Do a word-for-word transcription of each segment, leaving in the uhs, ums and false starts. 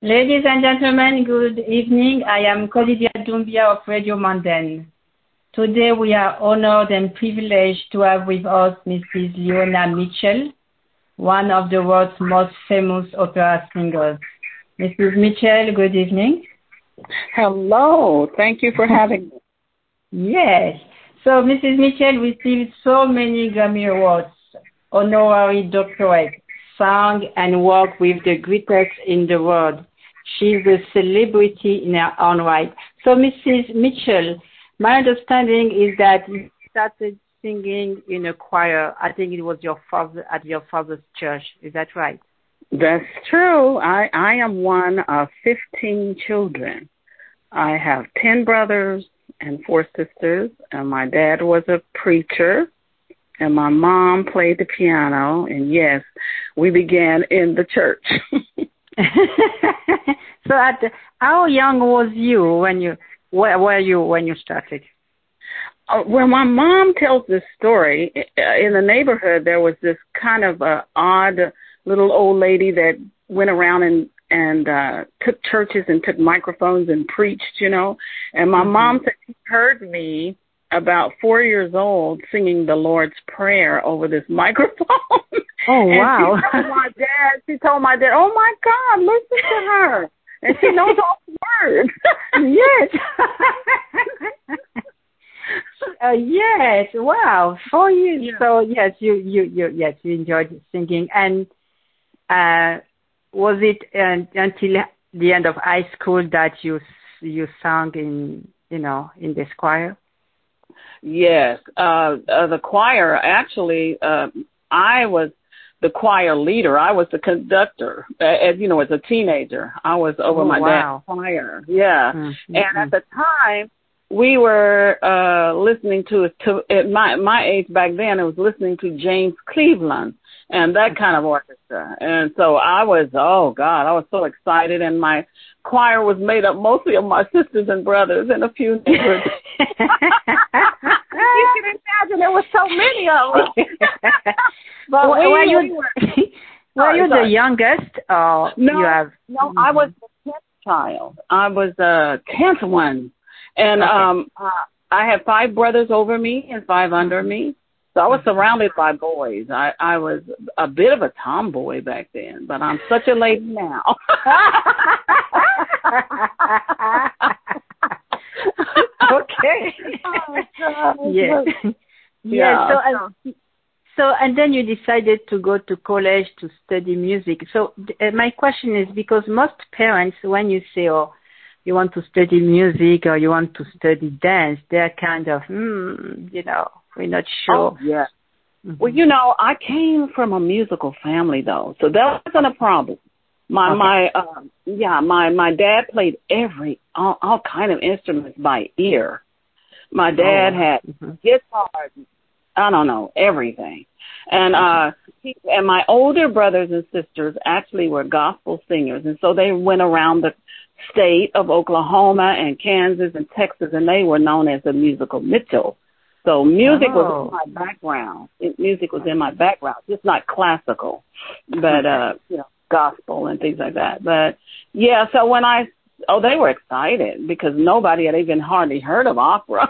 Ladies and gentlemen, good evening. I am Kolidia Doumbia of Radio Mondaine. Today we are honored and privileged to have with us Missus Leona Mitchell, one of the world's most famous opera singers. Missus Mitchell, good evening. Hello. Thank you for having me. Yes. So Missus Mitchell received so many Grammy Awards, honorary doctorate, sang and worked with the greatest in the world. She's a celebrity in her own right. So Missus Mitchell, my understanding is that you started singing in a choir. I think it was your father at your father's church. Is that right? That's true. I, I am one of fifteen children. I have ten brothers and four sisters, and my dad was a preacher, and my mom played the piano, and yes, we began in the church. So, at the, how young was you when you where were you when you started? Uh, well, my mom tells this story. In the neighborhood, there was this kind of uh, odd little old lady that went around and and uh, took churches and took microphones and preached, you know. And my mm-hmm. mom said she heard me about four years old singing the Lord's Prayer over this microphone. Oh, wow. And she told my dad, she told my dad, oh, my God, listen to her. And she knows all the words. Yes. uh, yes. Wow. Four years. Yeah. So, yes, you, you, you, yes, you enjoyed singing. And uh, was it uh, until the end of high school that you you sang in, you know, in this choir? Yes. Uh, uh, the choir, actually, uh, I was the choir leader. I was the conductor. As you know, as a teenager, I was over oh, my wow. dad's choir. Yeah. Mm-hmm. And at the time, we were uh, listening to, to at my my age back then, I was listening to James Cleveland and that kind of orchestra. And so I was, oh, God, I was so excited. And my choir was made up mostly of my sisters and brothers and a few neighbors. You can imagine there were so many of them. But we, were you, we were, were sorry, you sorry. the youngest? Or no, you have... no, mm-hmm. I was the tenth child. I was the tenth one. And okay. um, uh, I had five brothers over me and five under me. So I was surrounded by boys. I, I was a bit of a tomboy back then, but I'm such a lady now. Okay. Oh, God. Yes. Yeah. yeah. So, uh, so, and then you decided to go to college to study music. So uh, my question is, because most parents, when you say, oh, you want to study music or you want to study dance, they're kind of, hmm, you know, we're not sure. Oh, yeah. Mm-hmm. Well, you know, I came from a musical family, though, so that wasn't a problem. My, okay. my, uh, yeah, my, my dad played every, all, all kind of instruments by ear. My dad oh, had mm-hmm. guitars, I don't know, everything. And, uh, he, and my older brothers and sisters actually were gospel singers, and so they went around the state of Oklahoma and Kansas and Texas, and they were known as the musical Mitchell. So music oh. was in my background. It, music was in my background, just not classical, but, uh, you know, gospel and things like that. But, yeah, so when I, oh, they were excited because nobody had even hardly heard of opera.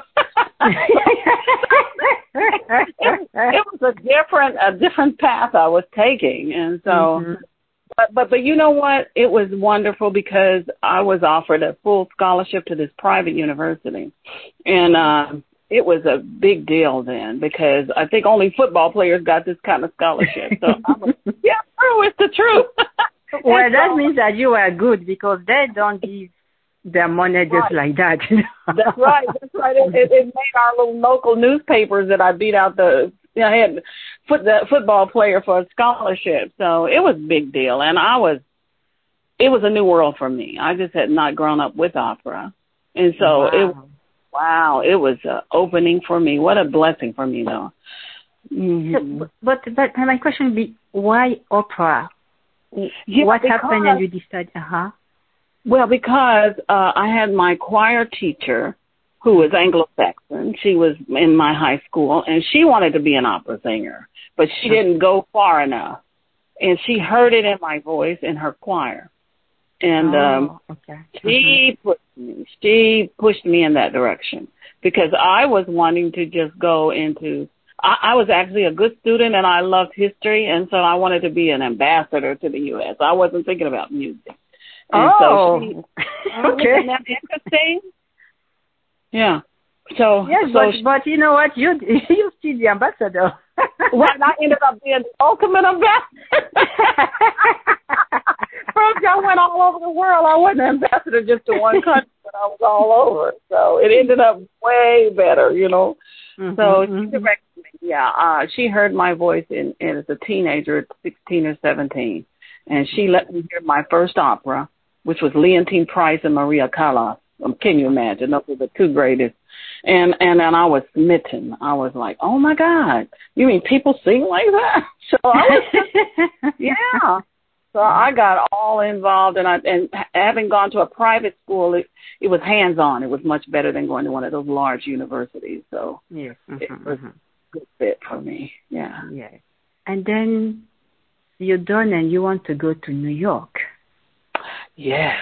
it, it was a different, a different path I was taking. And so, mm-hmm. but, but, but you know what? It was wonderful because I was offered a full scholarship to this private university. And, um, it was a big deal then because I think only football players got this kind of scholarship. So I was, yeah, true, it's the truth. Well, that so, means that you were good because they don't give their money just right. like that. That's right. That's right. It, it, it made our little local newspapers that I beat out the, you know, I had foot, the football player for a scholarship. So it was a big deal. And I was, it was a new world for me. I just had not grown up with opera. And so wow. it was, Wow, it was an opening for me. What a blessing for me, though. Mm-hmm. So, but but my question would be, why opera? Yeah, what because, happened and you decided, uh-huh? Well, because uh, I had my choir teacher who was Anglo-Saxon. She was in my high school, and she wanted to be an opera singer, but she didn't go far enough. And she heard it in my voice in her choir. And oh, um, okay. she pushed me. She pushed me in that direction because I was wanting to just go into. I, I was actually a good student, and I loved history, and so I wanted to be an ambassador to the U S. I wasn't thinking about music. And oh, so she, okay. Isn't that interesting? Yeah. So yes, so but she, but you know what? You you still the ambassador. right, I ended up being the ultimate ambassador. First, I went all over the world. I wasn't an ambassador just to one country, but I was all over. So it ended up way better, you know. Mm-hmm, So she mm-hmm. directed me. Yeah, uh, she heard my voice in, in as a teenager, at sixteen or seventeen, and she let me hear my first opera, which was Leontine Price and Maria Callas. Um, can you imagine? Those were the two greatest. And and then I was smitten. I was like, oh my God, you mean people sing like that? So I was just, yeah. So I got all involved, and I and having gone to a private school, it, it was hands on. It was much better than going to one of those large universities. So yes, mm-hmm, it was mm-hmm. a good fit for me. Yeah. Yes. And then you're done, and you want to go to New York. Yeah.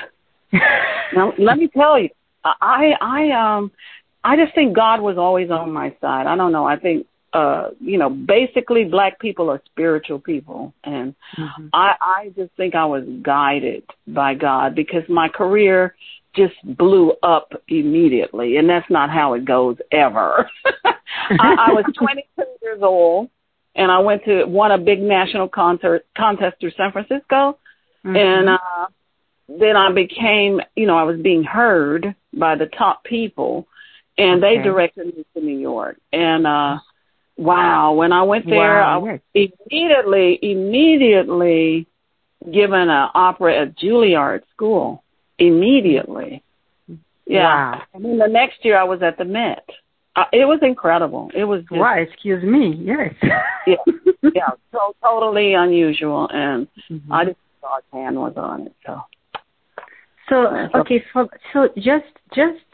Now let me tell you, I I um I just think God was always on my side. I don't know. I think uh you know basically Black people are spiritual people, and mm-hmm. I I just think I was guided by God because my career just blew up immediately, and that's not how it goes ever. I, I was twenty-two years old, and I went to won a big national concert contest through San Francisco, mm-hmm. and. uh Then I became, you know, I was being heard by the top people, and okay. they directed me to New York. And, uh, wow, when I went there, wow, I was yes. immediately, immediately given an opera at Juilliard School. Immediately. Yeah. Wow. And then the next year I was at the Met. Uh, it was incredible. It was just, wow, excuse me, yes. yeah, yeah, so totally unusual, and mm-hmm. I just thought God's hand was on it, so. So okay, so so just just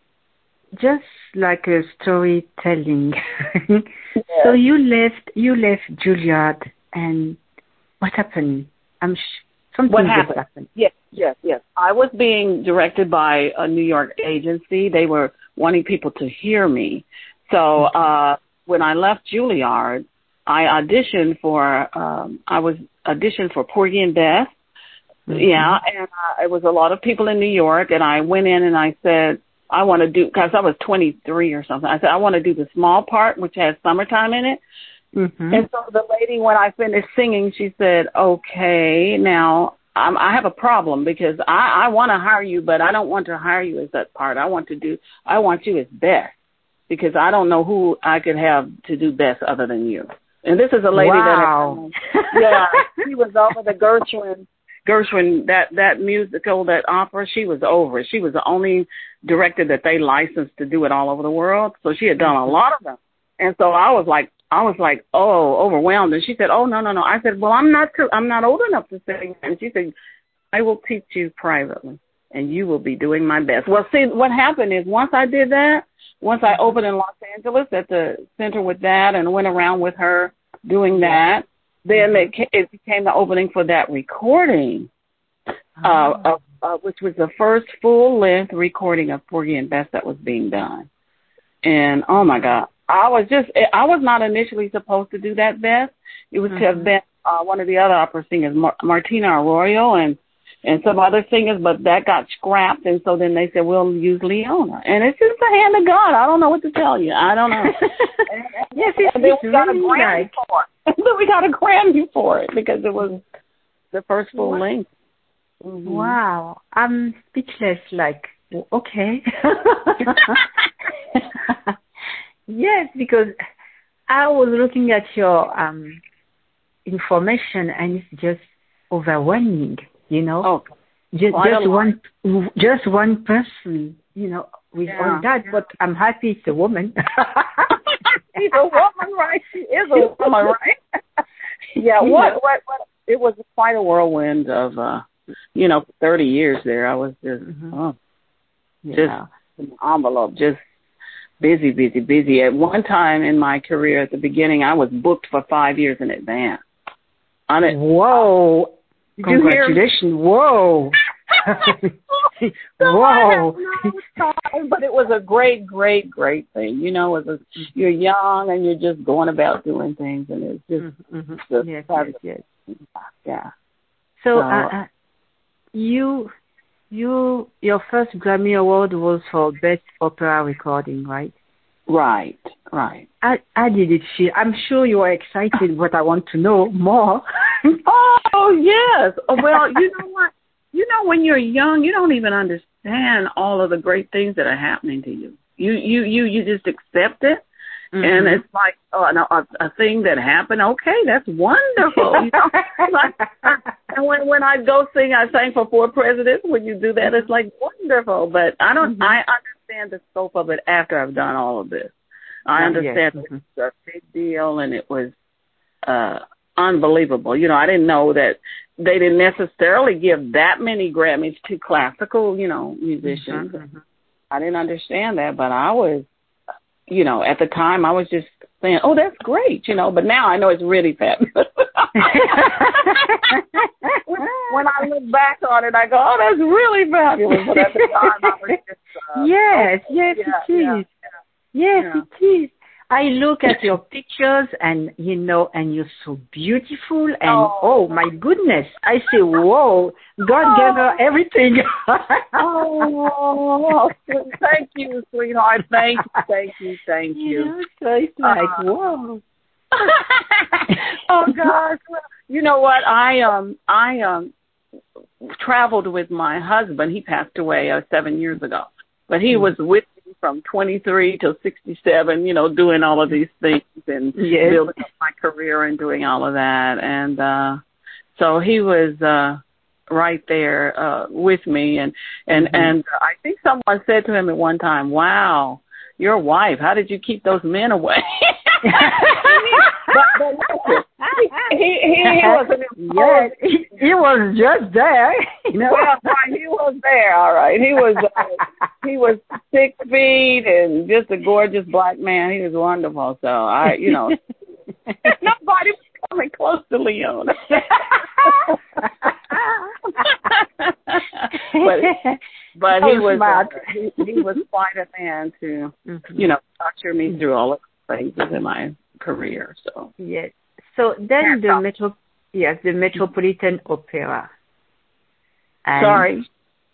just like a storytelling. yeah. So you left you left Juilliard, and what happened? I'm sh- something what happened? just happened. Yes, yes, yes. I was being directed by a New York agency. They were wanting people to hear me. So uh, when I left Juilliard, I auditioned for um, I was auditioned for Porgy and Bess. Mm-hmm. Yeah, and uh, it was a lot of people in New York, and I went in and I said, I want to do, because I was twenty-three or something, I said, I want to do the small part, which has summertime in it. Mm-hmm. And so the lady, when I finished singing, she said, okay, now I'm, I have a problem because I, I want to hire you, but I don't want to hire you as that part. I want to do, I want you as Bess, because I don't know who I could have to do Bess other than you. And this is a lady wow. that, had, yeah, she was over the Gershwin. Gershwin, that, that musical, that opera, she was over it. She was the only director that they licensed to do it all over the world. So she had done a lot of them. And so I was like, I was like, oh, overwhelmed. And she said, oh, no, no, no. I said, well, I'm not, too, I'm not old enough to sing. And she said, I will teach you privately, and you will be doing my best. Well, see, what happened is once I did that, once I opened in Los Angeles at the center with that and went around with her doing that, then it, it became the opening for that recording, oh. uh, of, uh, which was the first full-length recording of Porgy and Bess that was being done. And, oh, my God, I was just, I was not initially supposed to do that Bess. It was mm-hmm. to have been uh, one of the other opera singers, Mar- Martina Arroyo and, and some other singers, but that got scrapped. And so then they said, we'll use Leona. And it's just the hand of God. I don't know what to tell you. I don't know. and, and, yes, it's, and then it's we got really a Grammy like... for it. And then we got a Grammy for it because it was the first full wow. length. Mm-hmm. Wow. I'm speechless, like, okay. Yes, because I was looking at your um, information, and it's just overwhelming, you know. Oh, just, just one, just one person, you know, with yeah. all that. But I'm happy it's a woman. She's a woman, right? She is a woman, right? yeah. What, what? What? It was quite a whirlwind of, uh, you know, thirty years there. I was just, mm-hmm. oh, yeah. just an envelope, just. Busy, busy, busy. At one time in my career, at the beginning, I was booked for five years in advance. On it. Whoa! Congratulations! Whoa! so Whoa. I had no time, but it was a great, great, great thing. You know, it was a, you're young and you're just going about doing things, and it's just, Mm-hmm. just Yes, yes, yes. yeah. So, So, uh, uh, you, you, your first Grammy Award was for Best Opera Recording, right? right, right. How, how did it feel? I'm sure you were excited, but I want to know more. Oh, yes. Well, you know what? You know, when you're young, you don't even understand all of the great things that are happening to you. You, you, you, you just accept it. Mm-hmm. And it's like oh, no, a, a thing that happened. Okay, that's wonderful. You know? Like, and when when I go sing, I sang for four presidents. When you do that, it's like wonderful. But I don't. Mm-hmm. I understand the scope of it after I've done all of this. I understand yes. mm-hmm. it's a big deal, and it was uh, unbelievable. You know, I didn't know that they didn't necessarily give that many Grammys to classical, you know, musicians. Mm-hmm. I didn't understand that, but I was. You know, at the time I was just saying, oh, that's great, you know, but now I know it's really fabulous. When I look back on it, I go, oh, that's really fabulous. But at the time I was just, uh, yes, oh, yes, yeah, it is. Yeah, yes, yeah. it is. I look at your pictures and, you know, and you're so beautiful and, oh, oh my goodness, I say, whoa, God oh. gave her everything. Oh, thank you, sweetheart. Thank you, thank you, thank you. Yeah, so it's like, uh, whoa. Oh, gosh. You know what? I, um, I, um, traveled with my husband. He passed away uh, seven years ago, but he mm-hmm. was with from twenty-three till sixty-seven, you know, doing all of these things and yes. building up my career and doing all of that. And uh so he was uh right there uh with me. And and, mm-hmm. and I think someone said to him at one time, wow, your wife, how did you keep those men away? but, but he, he, he, he was an yes, he, he was just there. You know? Well, right, he was there, all right. He was uh, he was six feet and just a gorgeous black man. He was wonderful. So I, you know, nobody was coming close to Leon. but but he was uh, he, he was quite a man to mm-hmm. you know usher me through all of the phases in my career. So yes. So then the metro yes the Metropolitan Opera. And Sorry.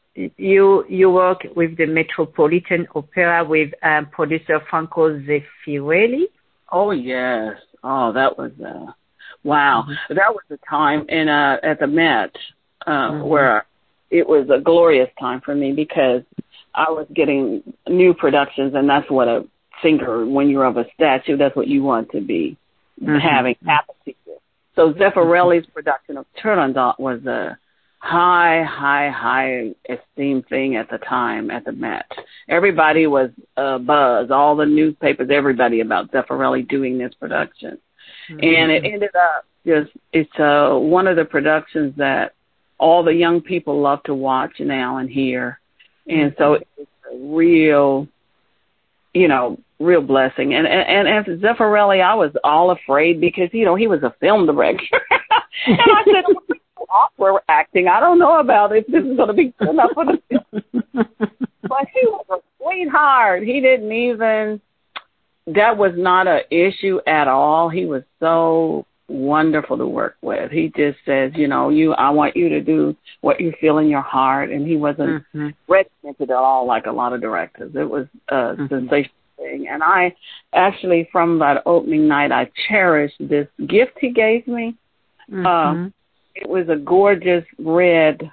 You you work with the Metropolitan Opera with um, producer Franco Zeffirelli. Oh yes. Oh, that was uh, wow. Mm-hmm. That was a time in uh, at the Met uh, mm-hmm. where it was a glorious time for me because I was getting new productions, and that's what a singer, when you're of a statue, that's what you want to be mm-hmm. having happen to you. So Zeffirelli's mm-hmm. production of Turandot was a high, high, high esteemed thing at the time at the Met. Everybody was uh, buzz, all the newspapers, everybody about Zeffirelli doing this production. Mm-hmm. And it ended up just, it's uh, one of the productions that all the young people love to watch now and hear. And mm-hmm. so it's a real, you know, real blessing. And, and, and as Zeffirelli, I was all afraid because, you know, he was a film director. And I said, awkward acting. I don't know about if this is going to be good enough for the film. But he was a sweetheart. He didn't even, that was not an issue at all. He was so wonderful to work with. He just says, you know, you, I want you to do what you feel in your heart. And he wasn't mm-hmm. regimented at all like a lot of directors. It was a mm-hmm. sensational thing. And I actually, from that opening night, I cherished this gift he gave me. Mm-hmm. Uh, It was a gorgeous red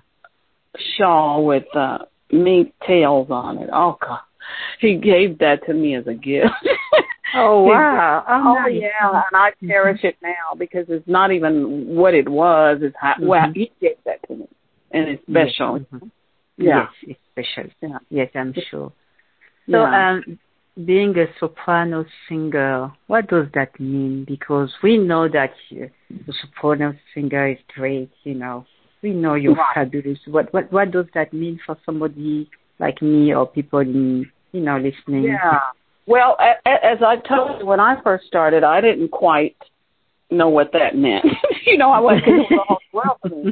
shawl with uh, mink tails on it. Oh, God. He gave that to me as a gift. Oh, wow. Oh, oh nice. Yeah. And I cherish it now because it's not even what it was. It's how, mm-hmm. well, he gave that to me. And it's special. Yes, mm-hmm. Yeah. Yes, it's special. Yeah. Yes, I'm sure. So, yeah. um, being a soprano singer, what does that mean? Because we know that uh, the soprano singer is great, you know. We know you're right. fabulous. What, what what does that mean for somebody like me or people in, you know, listening? Yeah. Well, as I told you, when I first started, I didn't quite know what that meant. You know, I wasn't, it was a whole world for me.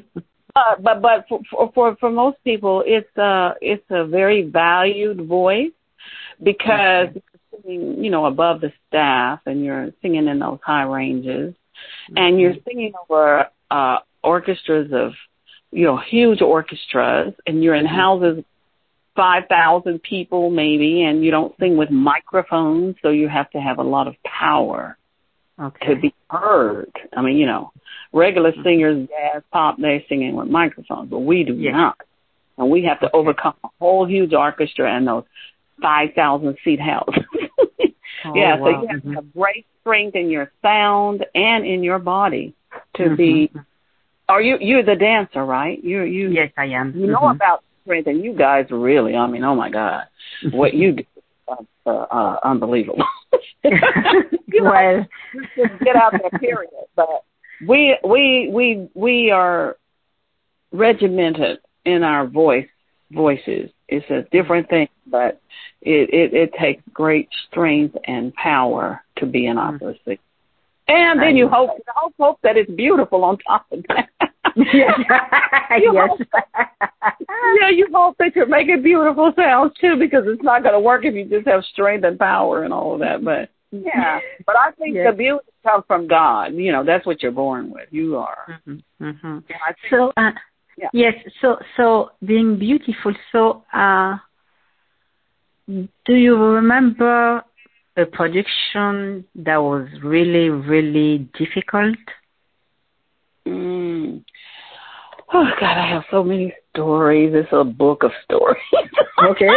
But but but for for for, for most people, it's a it's a very valued voice because okay. you're singing, you know, above the staff, and you're singing in those high ranges, Mm-hmm. and you're singing over uh, orchestras of, you know, huge orchestras, and you're in houses five thousand people maybe, and you don't sing with microphones, so you have to have a lot of power Okay. to be heard. I mean, you know, regular singers, jazz, pop, they're singing with microphones, but we do Yes. not. And we have to Okay. overcome a whole huge orchestra and those five thousand seat houses. Oh, yeah, wow. so you have Mm-hmm. to have great strength in your sound and in your body to Mm-hmm. be. Are you you're the dancer, right? You you Yes, I am. you know Mm-hmm. about strength, and you guys really. I mean, oh my God, what you do, uh, uh, uh, unbelievable. you know, Well, just get out there, period. But we we we we are regimented in our voice voices. It's a different thing, but it, it, it takes great strength and power to be an opera singer. And then you hope, you hope hope that it's beautiful on top of that. Yes. you Yes. Hope that, yeah, you hope that you're making beautiful sounds too, because it's not going to work if you just have strength and power and all of that. But yeah, but I think Yes. the beauty comes from God. You know, that's what you're born with. You are. Mm-hmm. Mm-hmm. Yeah, I think, So, uh, yeah. yes, so, so being beautiful, so, uh, do you remember a production that was really, really difficult? Mm. Oh God, I have so many stories. It's a book of stories. Okay.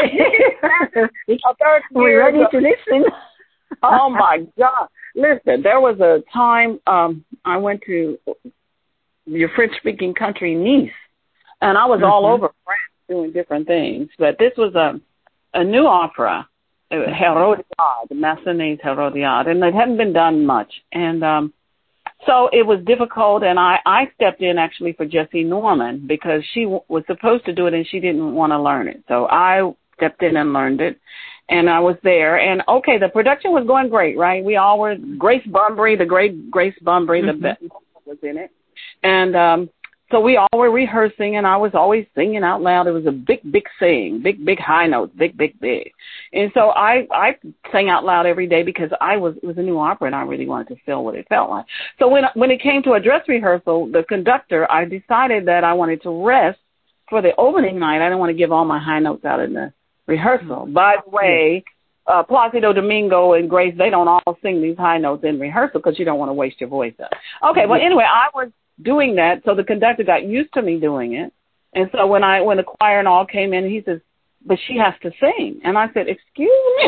We're We're ready to listen. Oh my God. Listen, there was a time um I went to your French speaking country, Nice, and I was Mm-hmm. all over France doing different things. But this was a a new opera, Hérodiade, Massenet's Hérodiade, and it hadn't been done much. And um so it was difficult, and I, I stepped in actually for Jessie Norman because she w- was supposed to do it and she didn't want to learn it. So I stepped in and learned it, and I was there. And, okay, the production was going great, right? We all were, Grace Bunbury, the great Grace Bunbury, Mm-hmm. the best was in it. And um, so we all were rehearsing, and I was always singing out loud. It was a big, big sing, big, big high notes, big, big, big. And so I, I sang out loud every day because I was, it was a new opera, and I really wanted to feel what it felt like. So when, when it came to a dress rehearsal, the conductor, I decided that I wanted to rest for the opening night. I didn't want to give all my high notes out in the rehearsal. Mm-hmm. By the way, uh, Placido Domingo and Grace, they don't all sing these high notes in rehearsal because you don't want to waste your voice up. Okay, well, anyway, I was doing that, so the conductor got used to me doing it. And so when I when the choir and all came in, he says, but she has to sing. And I said, excuse me?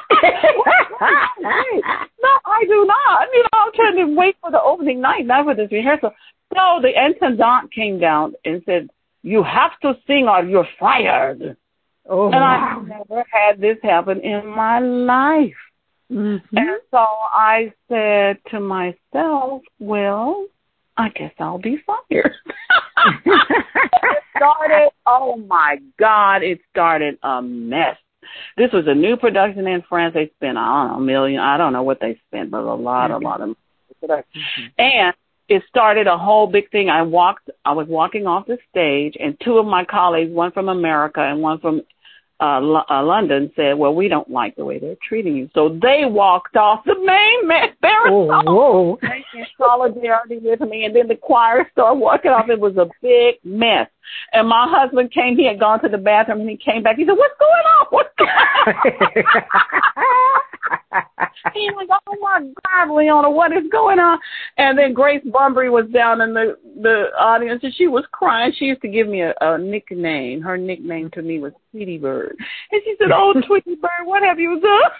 No, I do not. You know, I'm trying to wait for the opening night, not for this rehearsal. So the intendant came down and said, you have to sing or you're fired. Oh, and wow. I've never had this happen in my life. Mm-hmm. And so I said to myself, well, I guess I'll be fired. It started, oh my God, it started a mess. This was a new production in France. They spent, I don't know, a million, I don't know what they spent, but a lot, mm-hmm. a lot of money. Mm-hmm. And it started a whole big thing. I walked, I was walking off the stage, and two of my colleagues, one from America and one from Uh, L- uh, London, said, well, we don't like the way they're treating you. So they walked off the main man. Oh, whoa. In solidarity with me. And then the choir started walking off. It was a big mess. And my husband came, he had gone to the bathroom, and he came back. He said, what's going on? What's going on? He was, oh my God, Leona, what is going on? And then Grace Bunbury was down in the, the audience, and she was crying. She used to give me a, a nickname. Her nickname to me was Tweety Bird. And she said, oh, Tweety Bird, what have you done?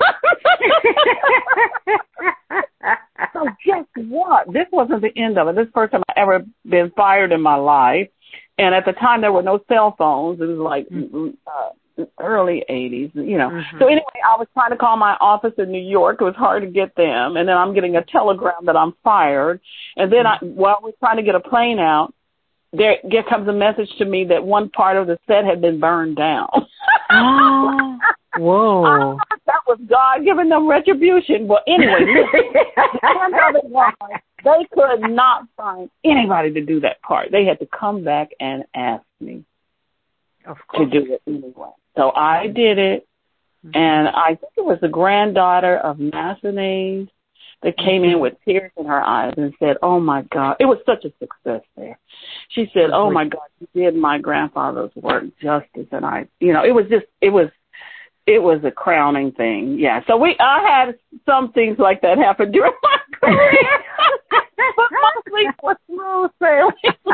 So guess what? This wasn't the end of it. This is the first time I ever been fired in my life. And at the time, there were no cell phones. It was like uh, early eighties, you know. Mm-hmm. So anyway, I was trying to call my office in New York. It was hard to get them. And then I'm getting a telegram that I'm fired. And then I, while we're trying to get a plane out, there, there comes a message to me that one part of the set had been burned down. Oh, whoa. That was God giving them retribution. Well, anyway, the end of it was, They could not find anybody to do that part. They had to come back and ask me of course. to do it anyway. So I did it, mm-hmm. and I think it was the granddaughter of Massenet that came in with tears in her eyes and said, "Oh my God," it was such a success there. She said, "Oh my God, you did my grandfather's work justice," and I, you know, it was just, it was, it was a crowning thing. Yeah. So we, I had some things like that happen during my career, but mostly it was smooth sailing.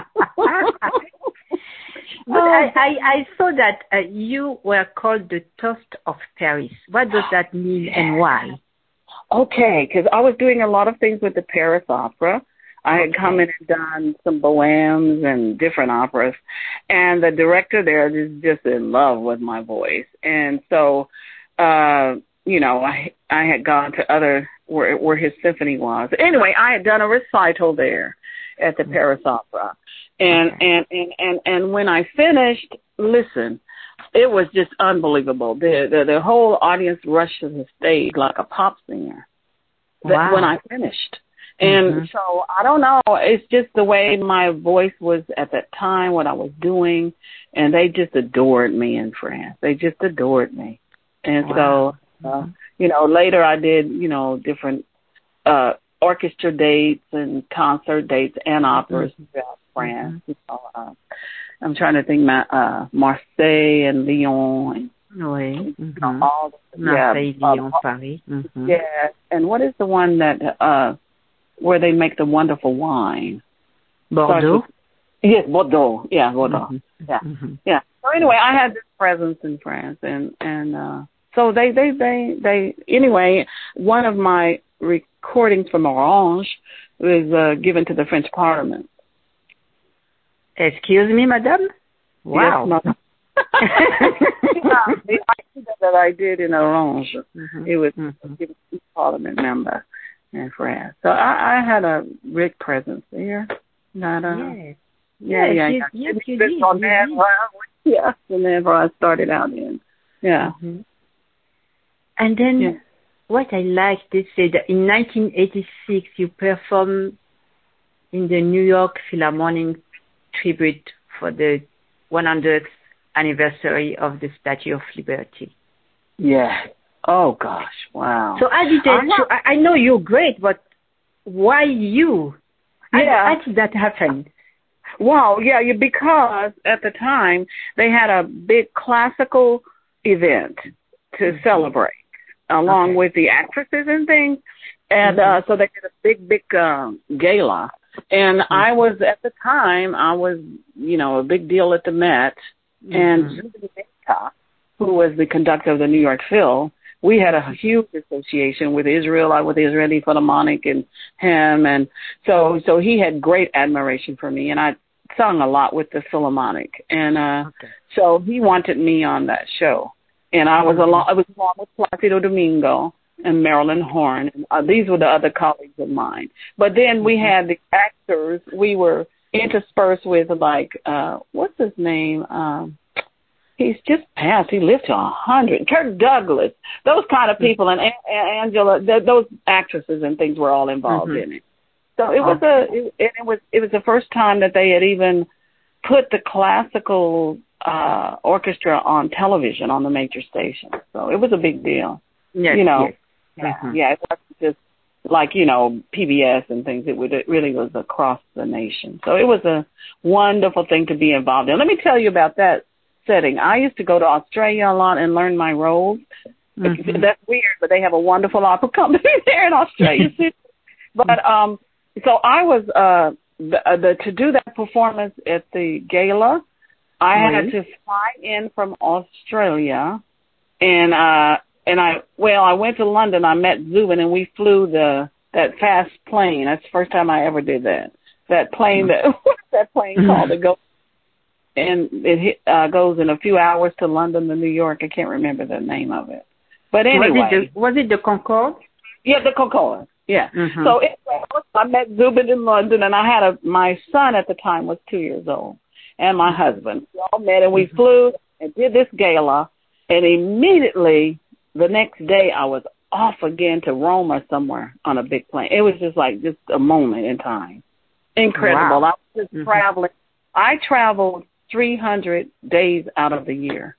But I, I, I saw that uh, you were called the Toast of Paris. What does that mean and why? Okay, because I was doing a lot of things with the Paris Opera. I had okay. come in and done some bohèmes and different operas, and the director there is just in love with my voice. And so, uh, you know, I I had gone to other where where his symphony was. Anyway, I had done a recital there at the mm-hmm. Paris Opera, and, okay. and and and and when I finished, listen. It was just unbelievable. The, the the whole audience rushed to the stage like a pop singer wow. when I finished. And mm-hmm. so I don't know. It's just the way my voice was at that time, what I was doing, and they just adored me in France. They just adored me. And wow. so, uh, you know, later I did, you know, different uh, orchestra dates and concert dates and operas mm-hmm. throughout France. Mm-hmm. You know, uh, I'm trying to think, uh, Marseille and Lyon. And, oui. you know, all the, Marseille, yeah, Lyon, uh, Paris. Mm-hmm. Yeah. And what is the one that, uh, where they make the wonderful wine? Bordeaux? With, yes, Bordeaux. Yeah, Bordeaux. Mm-hmm. Yeah. Mm-hmm. Yeah. So anyway, I had this presence in France, and, and, uh, so they, they, they, they, anyway, one of my recordings from Orange was, uh, given to the French Parliament. Excuse me, madame? Wow. Yes, madame. Yeah, the idea that I did in Orange, mm-hmm. it was mm-hmm. given to a Parliament member in France. So I, I had a big presence there. Not, uh, yes. Yeah, yes, yeah. You, yeah. yes, It, you did. On you that, did. Well, yeah, whenever I started out in. Yeah. Mm-hmm. And then yeah. what I liked, they said that in nineteen eighty-six you performed in the New York Philharmonic tribute for the one hundredth anniversary of the Statue of Liberty. Yeah. Oh gosh! Wow. So how did that? Uh-huh. I, I know you're great, but why you? How, yeah. how did that happen? Wow. Yeah. Because at the time they had a big classical event to mm-hmm. celebrate, along okay. with the actresses and things, and mm-hmm. uh, so they did a big, big um, gala. And mm-hmm. I was, at the time, I was, you know, a big deal at the Met. Mm-hmm. And Zubin Mehta, who was the conductor of the New York Phil, we had a huge association with Israel, with the Israeli Philharmonic and him. And so so he had great admiration for me. And I sung a lot with the Philharmonic. And uh, okay. so he wanted me on that show. And I was mm-hmm. along, I was along with Placido Domingo and Marilyn Horne. Uh, these were the other colleagues of mine. But then we had the actors. We were interspersed with, like, uh, what's his name? Um, he's just passed. He lived to a hundred. Kirk Douglas. Those kind of people. And a- Angela, th- those actresses and things were all involved mm-hmm. in it. So it was a, it, it was, it was the first time that they had even put the classical uh, orchestra on television on the major station. So it was a big deal. Yes, you know. Yes. Yeah, mm-hmm. yeah, it wasn't just like, you know, P B S and things. It, would, it really was across the nation. So it was a wonderful thing to be involved in. Let me tell you about that setting. I used to go to Australia a lot and learn my roles. Mm-hmm. That's weird, but they have a wonderful opera company there in Australia. But um, so I was uh, the, the to do that performance at the gala. I mm-hmm. had to fly in from Australia, and uh. And I, well, I went to London. I met Zubin, and we flew the that fast plane. That's the first time I ever did that. That plane, that what's that plane called? It goes and it hit, uh, goes in a few hours to London to New York. I can't remember the name of it. But anyway, was it the, was it the Concorde? Yeah, the Concorde. Yeah. Mm-hmm. So it, I met Zubin in London, and I had a my son at the time was two years old, and my husband. We all met, and we mm-hmm. flew and did this gala, and immediately. The next day, I was off again to Rome or somewhere on a big plane. It was just like just a moment in time. Incredible. Wow. I was just Mm-hmm. traveling. I traveled three hundred days out of the year.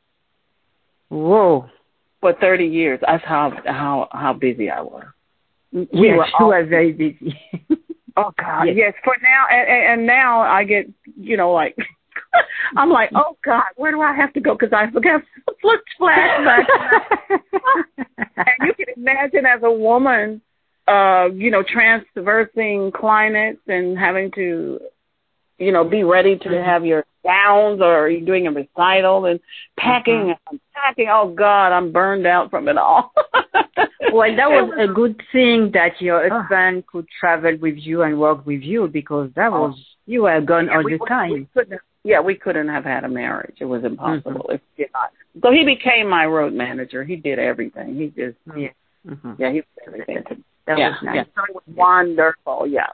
Whoa. For thirty years. That's how how how busy I was. We yes, were you all, were very busy. oh God, yes. yes. For now, and, and now I get, you know, like I'm like, oh God, where do I have to go? Because I forgot flashbacks. And you can imagine as a woman, uh, you know, transversing climates and having to, you know, be ready to mm-hmm. have your gowns, or you're doing a recital and packing mm-hmm. and packing. Oh God, I'm burned out from it all. Well, that was a good thing that your husband could travel with you and work with you, because that was, you were gone yeah, all we, the time. We couldn't, yeah, we couldn't have had a marriage. It was impossible. Mm-hmm. If he not. So he became my road manager. He did everything. He just, yeah, mm-hmm. yeah, he did everything. That yeah, was nice. Yeah, so it was wonderful, yeah.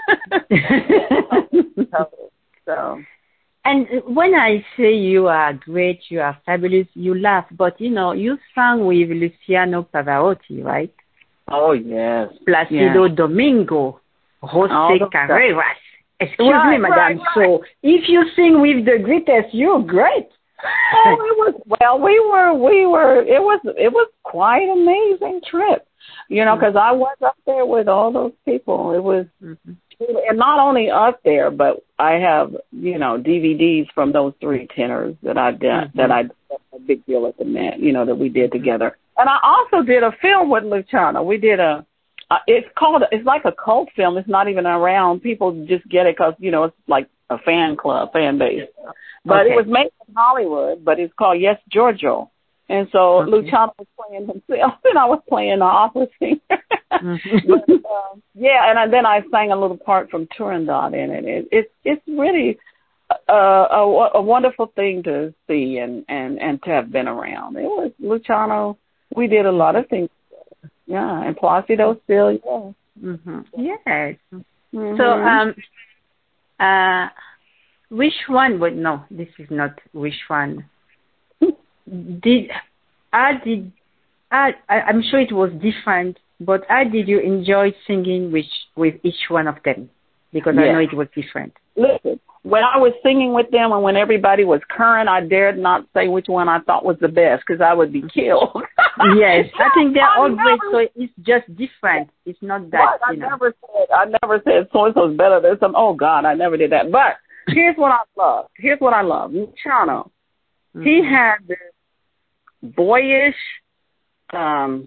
so, so. And when I say you are great, you are fabulous, you laugh, but you know, you sang with Luciano Pavarotti, right? Oh, yes. Placido yes. Domingo, José Carreras. Excuse right, me, madam. Right, right. So if you sing with the greatest, you're great. Oh, it was, well, we were, we were, it was, it was quite an amazing trip, you know, because mm-hmm. I was up there with all those people. It was, mm-hmm. and not only up there, but I have, you know, D V Ds from those three tenors that I did, mm-hmm. that I did a big deal at the Met, you know, that we did mm-hmm. together. And I also did a film with Luciano. We did a, uh, it's called, it's like a cult film. It's not even around. People just get it because, you know, it's like a fan club, fan base. But okay. It was made in Hollywood, but it's called Yes, Giorgio. And so okay. Luciano was playing himself, and I was playing the opera singer. mm-hmm. but, uh, yeah, and I, then I sang a little part from Turandot in it. it, it it's really a, a, a wonderful thing to see and, and, and to have been around. It was Luciano. We did a lot of things. Yeah, and Placido still, yeah. Mm-hmm. Yes. Mm-hmm. So, um, uh, which one? But no, this is not which one. Did I did I, I I'm sure it was different, but how did you enjoy singing with with each one of them? Because yeah. I know it was different. Listen, when I was singing with them and when everybody was current, I dared not say which one I thought was the best because I would be killed. Yes, I think they're all great, so it's just different. It's not that, what? you I know. never said I never said so and so's better than some. Oh God, I never did that. But here's what I love. Here's what I love. Luciano. Mm-hmm. He had this boyish um,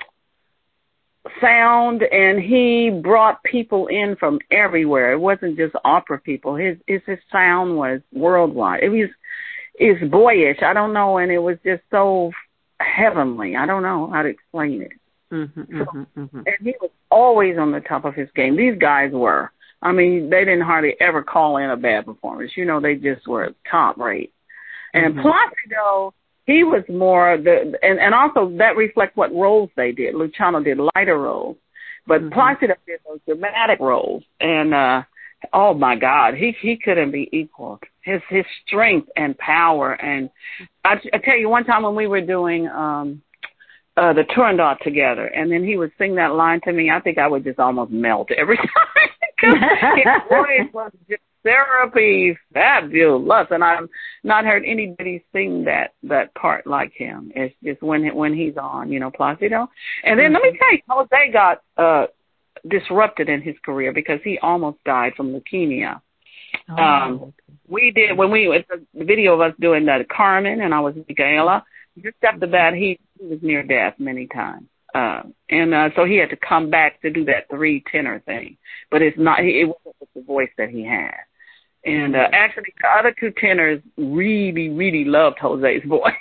sound, and he brought people in from everywhere. It wasn't just opera people. His his, his sound was worldwide. It was it's boyish. I don't know, and it was just so heavenly. I don't know how to explain it. Mm-hmm, so, mm-hmm, mm-hmm. And he was always on the top of his game. These guys were. I mean, they didn't hardly ever call in a bad performance. You know, they just were top rate. And mm-hmm. Placido, he was more the, and, and also that reflects what roles they did. Luciano did lighter roles, but mm-hmm. Placido did those dramatic roles. And, uh, oh my God, he, he couldn't be equaled. His, his strength and power. And I, I tell you, one time when we were doing, um, uh, the Turandot together, and then he would sing that line to me, I think I would just almost melt every time. His voice was just therapy, fabulous, and I've not heard anybody sing that that part like him. It's just when when he's on, you know, Placido. And then mm-hmm. let me tell you, Jose got uh, disrupted in his career because he almost died from leukemia. Oh. Um, we did when we it's a video of us doing that Carmen, and I was Micaela. Just after that, he, he was near death many times. Uh, and uh, so he had to come back to do that three tenor thing, but it's not. It wasn't with the voice that he had. And uh, actually, the other two tenors really, really loved Jose's voice.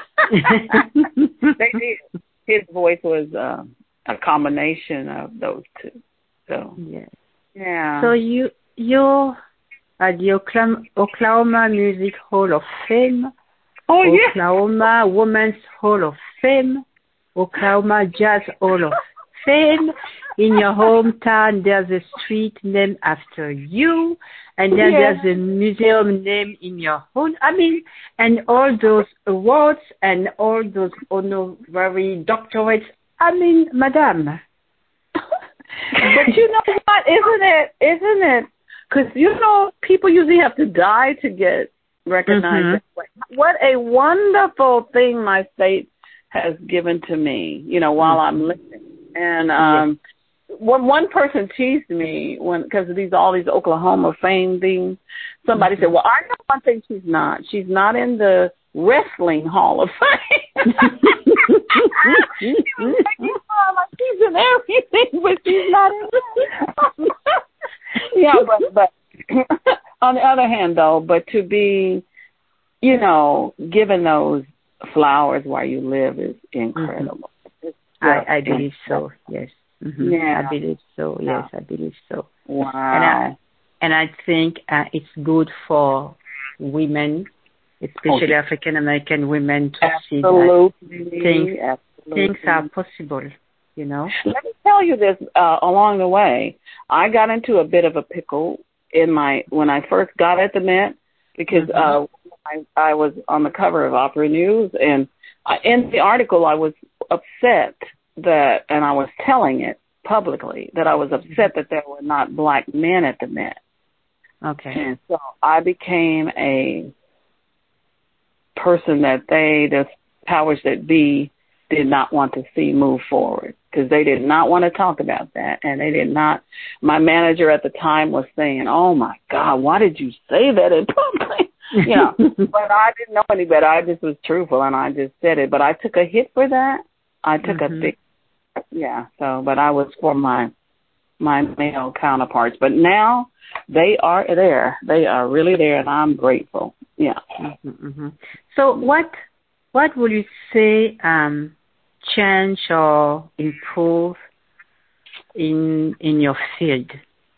They did. His voice was uh, a combination of those two. So yes. yeah. So you you're at the Oklahoma, Oklahoma Music Hall of Fame. Oh yeah. Oklahoma Women's Hall of Fame. Oklahoma Jazz Hall of Fame. In your hometown, there's a street named after you, and then yeah. there's a museum named in your home. I mean, and all those awards and all those honorary doctorates I mean, Madame. But you know what? Isn't it? Isn't it? Because you know, people usually have to die to get recognized. Mm-hmm. That way. What a wonderful thing my state has given to me. You know, while mm-hmm. I'm living, and um, yes. one one person teased me when because of these all these Oklahoma fame things. Somebody mm-hmm. said, "Well, I know one thing she's not. She's not in the Wrestling Hall of Fame." She was making fun like she's in everything, but she's not in there. Yeah, but but on the other hand, though, but to be, you know, given those flowers while you live is incredible. Mm-hmm. I, I believe so. Yes. Mm-hmm. Yeah, I believe so. Yes, yeah. I believe so. Wow. And I and I think uh, it's good for women, especially oh, African American women, to absolutely. see that things absolutely. things are possible. You know. Let me tell you this. Uh, along the way, I got into a bit of a pickle in my when I first got at the Met because mm-hmm. uh, I, I was on the cover of Opera News, and I, in the article I was upset that, and I was telling it publicly that I was upset that there were not black men at the Met. Okay. And so I became a person that they, the powers that be, did not want to see move forward because they did not want to talk about that. And they did not, my manager at the time was saying, "Oh my God, why did you say that in public?" You know, but I didn't know any better. I just was truthful and I just said it, but I took a hit for that. I took mm-hmm. a big, yeah. So, but I was for my, my male counterparts, but now they are there. They are really there and I'm grateful. Yeah. Mm-hmm, mm-hmm. So what, what would you say, um, change or improve in in your field?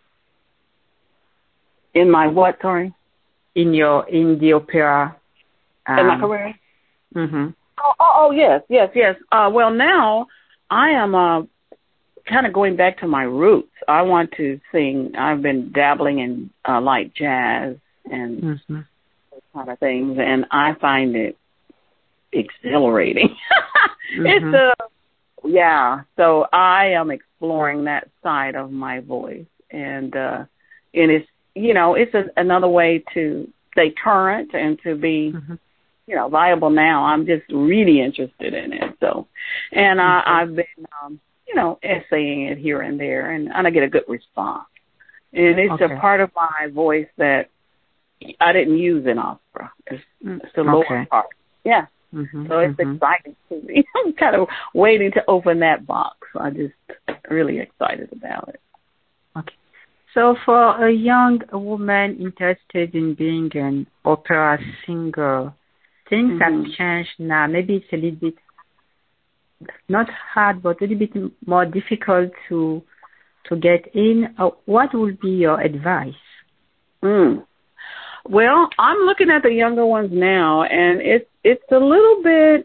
In my what, sorry? In your in the opera. Um, in my career? Mm-hmm. Oh, oh, oh, yes, yes, yes. Uh, well, now I am uh, kind of going back to my roots. I want to sing. I've been dabbling in uh, light jazz and mm-hmm. those kind of things, and I find it exhilarating. mm-hmm. It's a yeah. So I am exploring that side of my voice, and uh, and it's you know it's a, another way to stay current and to be mm-hmm. you know viable. Now I'm just really interested in it. So, and mm-hmm. I, I've been um, you know essaying it here and there, and, and I get a good response. And it's okay. a part of my voice that I didn't use in opera. It's, it's the lower okay. part. Yeah. Mm-hmm, so it's mm-hmm. exciting to me. I'm kind of waiting to open that box. I'm just really excited about it. Okay. So for a young woman interested in being an opera singer, things mm-hmm. have changed now. Maybe it's a little bit, not hard, but a little bit more difficult to to get in. Uh, what would be your advice? Mm. Well, I'm looking at the younger ones now, and it's it's a little bit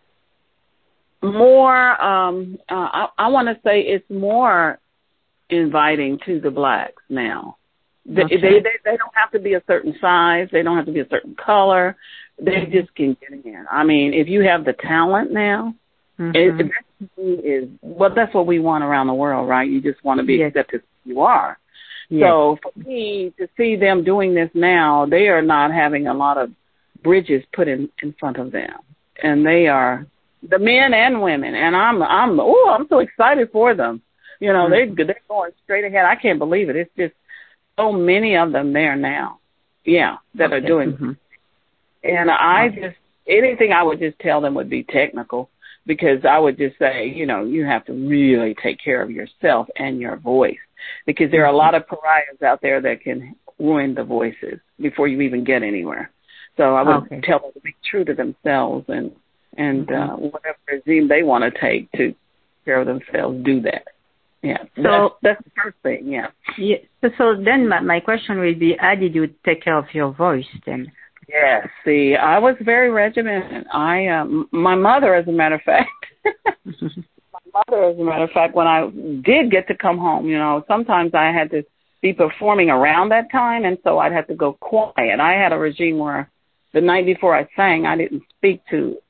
more. Um, uh, I, I want to say it's more inviting to the blacks now. They, okay. they they they don't have to be a certain size. They don't have to be a certain color. They mm-hmm. just can get in. I mean, if you have the talent now, mm-hmm. it, it is well. That's what we want around the world, right? You just want to be yes. accepted as you are. Yes. So for me to see them doing this now, they are not having a lot of bridges put in, in front of them, and they are the men and women. And I'm I'm oh I'm so excited for them. You know mm-hmm. they they're going straight ahead. I can't believe it. It's just so many of them there now. Yeah, that okay. are doing. Mm-hmm. And I okay. just anything I would just tell them would be technical, because I would just say, you know, you have to really take care of yourself and your voice, because there are a lot of pariahs out there that can ruin the voices before you even get anywhere. So I would okay. tell them to be true to themselves, and and mm-hmm. uh, whatever regime they want to take to take care of themselves, do that. Yeah. So that's, that's the first thing. Yeah. Yeah. So, so then my, my question will be, how did you take care of your voice then? Yes. See, I was very regimented. I, um, my mother, as a matter of fact, my mother, as a matter of fact, when I did get to come home, you know, sometimes I had to be performing around that time, and so I'd have to go quiet. I had a regime where the night before I sang, I didn't speak to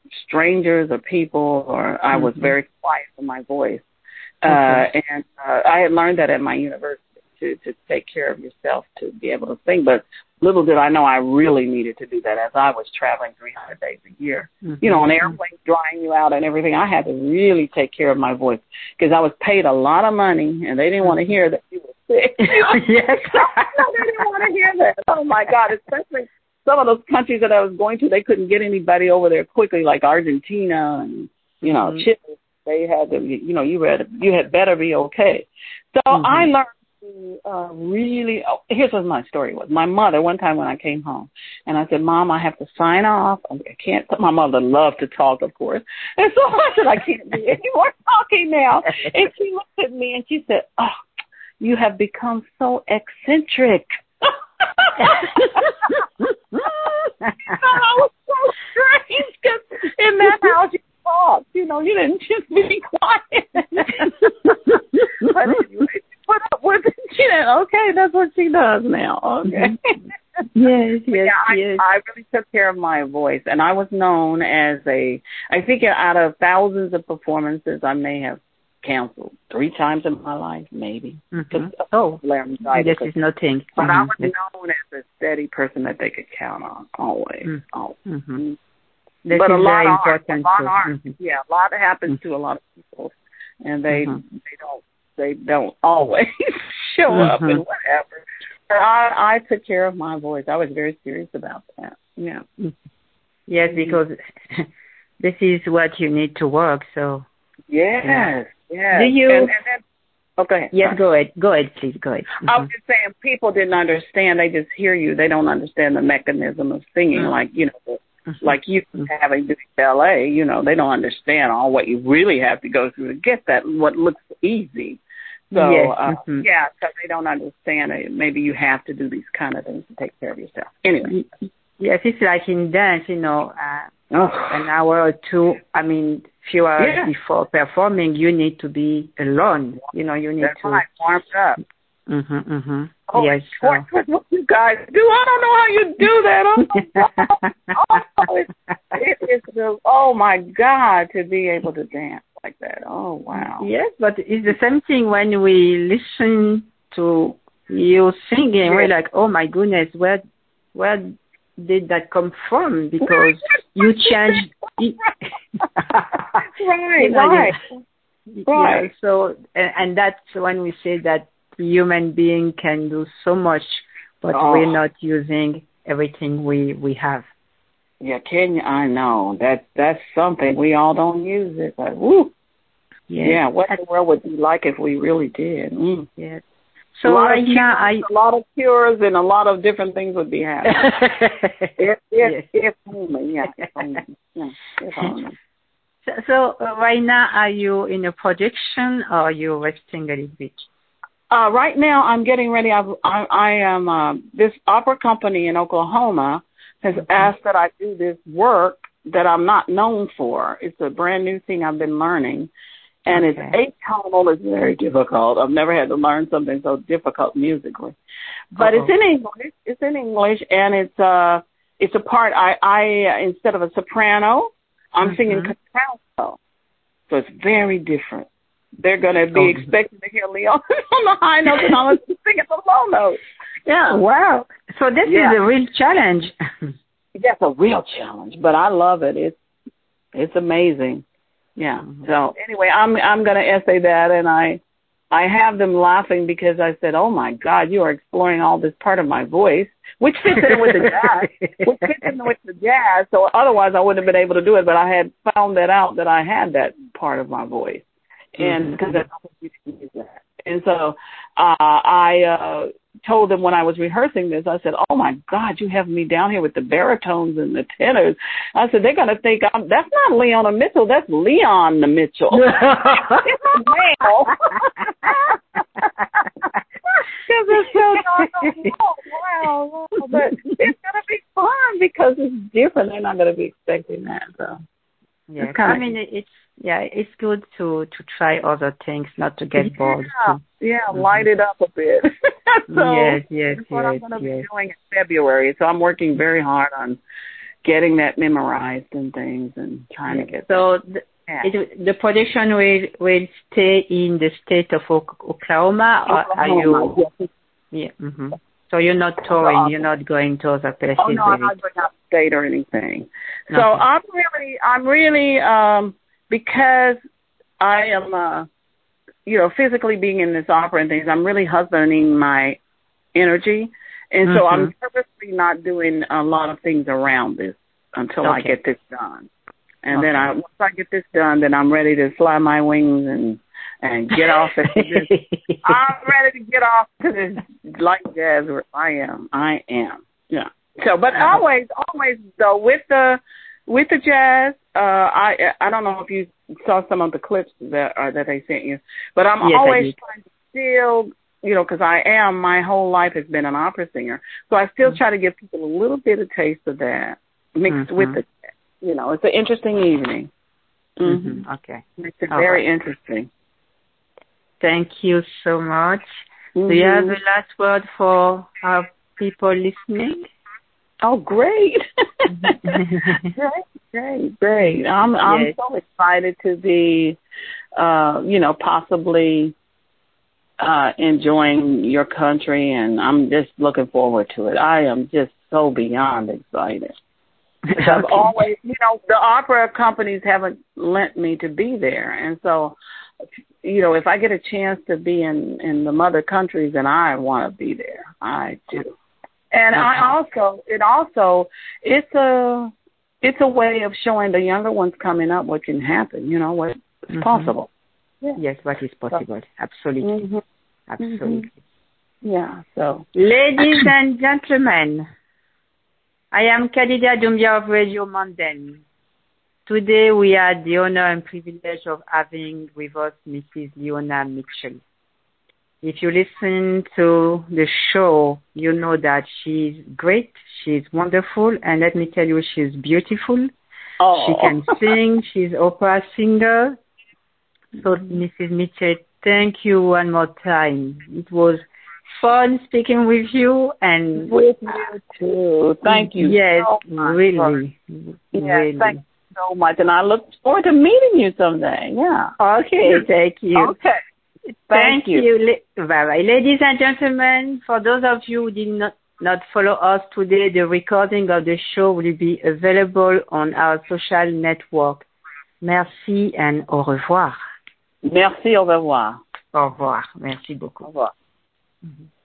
strangers or people, or I was mm-hmm. very quiet in my voice. Okay. Uh, and uh, I had learned that at my university to, to take care of yourself to be able to sing. But little did I know I really needed to do that as I was traveling three hundred days a year. Mm-hmm. You know, on airplanes drying you out and everything. I had to really take care of my voice because I was paid a lot of money and they didn't want to hear that you were sick. Yes. No, they didn't want to hear that. Oh, my God, especially some of those countries that I was going to, they couldn't get anybody over there quickly, like Argentina and, you know, mm-hmm. Chile. They had to, you know, you had, you had better be okay. So mm-hmm. I learned to uh, really, oh, here's what my story was. My mother, one time when I came home, and I said, Mom, I have to sign off. I can't, my mother loved to talk, of course. And so I said, I can't do any more talking now. And she looked at me and she said, oh, you have become so eccentric. I was so strange because in that house you talked, you know, you didn't just be quiet. But anyway, she put up with it. She said, okay, that's what she does now. Okay. Yes, yes, yeah, yes. I, I really took care of my voice, and I was known as a, I think out of thousands of performances, I may have canceled three times in my life, maybe. Mm-hmm. Oh, this is nothing. But mm-hmm. I was known as a steady person that they could count on, always. Mm-hmm. always. Mm-hmm. This but is a lot very of important. Art, a lot art. Mm-hmm. Yeah, a lot happens mm-hmm. to a lot of people, and they mm-hmm. they don't they don't always show mm-hmm. up and whatever. But I I took care of my voice. I was very serious about that. Yeah. Mm-hmm. Yes, because this is what you need to work. So. Yes. Yeah. Yes. Do you? And, and then, oh, go ahead. Yes, go ahead. Go ahead, please. Go ahead. Mm-hmm. I was just saying, people didn't understand. They just hear you. They don't understand the mechanism of singing, mm-hmm. like you know, mm-hmm. like you mm-hmm. having to do ballet. You know, they don't understand all what you really have to go through to get that. What looks easy. So yes. uh, mm-hmm. yeah, because they don't understand it. Maybe you have to do these kind of things to take care of yourself. Anyway. Yes, it's like in dance. You know, uh, oh. an hour or two. I mean. Few hours yeah. before performing, you need to be alone. You know, you need That's to right, warmed up. Mhm, mhm. Oh, yes. So. What you guys do? I don't know how you do that. Oh, oh, it's, it is the, oh my God, to be able to dance like that. Oh wow. Yes, but it's the same thing when we listen to you singing. We're like, oh my goodness, where, where did that come from? Because you changed. right, you know, right, you, right. Yeah, so, and, and that's when we say that human being can do so much, but oh. we're not using everything we, we have. Yeah, can you? I know that that's something we all don't use it. But woo, yes. yeah. What in the world would be like if we really did? Mm. Yes. So right now, I a lot of cures and a lot of different things would be happening. if, if, yes. if only, yeah, if only, yeah, if only. So, so uh, right now, are you in a production or are you resting a little bit? Uh, right now, I'm getting ready. I've, I, I am uh, this opera company in Oklahoma has mm-hmm. asked that I do this work that I'm not known for. It's a brand new thing I've been learning. And okay. it's eight tonal. It's very difficult. I've never had to learn something so difficult musically. But Uh-oh. it's in English. It's in English, and it's uh it's a part. I I instead of a soprano, I'm mm-hmm. singing contralto. So it's very different. They're going to be oh. expecting to hear Leon on the high notes, and I'm singing the low notes. Yeah. Wow. So this yeah. is a real challenge. That's a real challenge, but I love it. It's it's amazing. Yeah. So anyway, I'm I'm going to essay that, and I I have them laughing because I said, "Oh my God, you are exploring all this part of my voice, which fits in with the jazz, which fits in with the jazz." So otherwise, I wouldn't have been able to do it. But I had found that out that I had that part of my voice, and because mm-hmm. I you can use that. And so uh, I uh, told them when I was rehearsing this, I said, "Oh my God, you have me down here with the baritones and the tenors." I said, "They're going to think I'm, that's not Leona Mitchell, that's Leon the Mitchell." It's a male. Because it's so darn oh, wow, wow. But it's going to be fun because it's different. They're not going to be expecting that. So yeah, I mean, it's yeah, it's good to to try other things, not to get yeah, bored. Yeah, mm-hmm. light it up a bit. So yes, yes, that's what yes, I'm going to yes. be doing in February. So I'm working very hard on getting that memorized and things and trying to get so that. The, yeah. it, the production will will stay in the state of Oklahoma, or Oklahoma, are you? Yes. Yeah. Mm-hmm. So you're not touring. You're not going to other places. Oh no, I'm not going out of state or anything. So okay. I'm really, I'm really, um, because I am, uh, you know, physically being in this opera and things, I'm really husbanding my energy, and mm-hmm. so I'm purposely not doing a lot of things around this until okay. I get this done. And okay. then I, once I get this done, then I'm ready to fly my wings and and get off at this. I'm ready to get off to this light jazz where I am. I am. Yeah. So, but always, always though with the with the jazz, uh, I I don't know if you saw some of the clips that uh, that they sent you, but I'm yes, always trying to still, you know, because I am. My whole life has been an opera singer, so I still mm-hmm. try to give people a little bit of taste of that mixed mm-hmm. with the, you know, it's an interesting evening. Mm-hmm. Mm-hmm. Okay, makes it very right. interesting. Thank you so much. Mm-hmm. Do you have a last word for our people listening? Oh, great. great, great, great. I'm, yes. I'm so excited to be, uh, you know, possibly uh, enjoying your country, and I'm just looking forward to it. I am just so beyond excited. Okay. I've always, you know, the opera companies haven't lent me to be there, and so, you know, if I get a chance to be in, in the mother countries, then I want to be there. I do. And okay. I also, it also, it's a, it's a way of showing the younger ones coming up what can happen, you know, what's mm-hmm. possible. Yeah. Yes, what is possible. So, absolutely. Mm-hmm. Absolutely. Mm-hmm. Yeah, so. Ladies and gentlemen, I am Khadija Doumbia of Radio Mondaine. Today we had the honor and privilege of having with us Missus Leona Mitchell. If you listen to the show, you know that she's great, she's wonderful, and let me tell you, she's beautiful. Oh. She can sing, she's opera singer. So, Missus Mitchell, thank you one more time. It was fun speaking with you, and with you too. Thank you. Yes, so much really, yes, really. Thank you so much, and I look forward to meeting you someday. Yeah. Okay, thank you. Okay. Thank, Thank you. you. Bye-bye. Ladies and gentlemen, for those of you who did not, not follow us today, the recording of the show will be available on our social network. Merci and au revoir. Merci, au revoir. Au revoir. Merci beaucoup. Au revoir. Mm-hmm.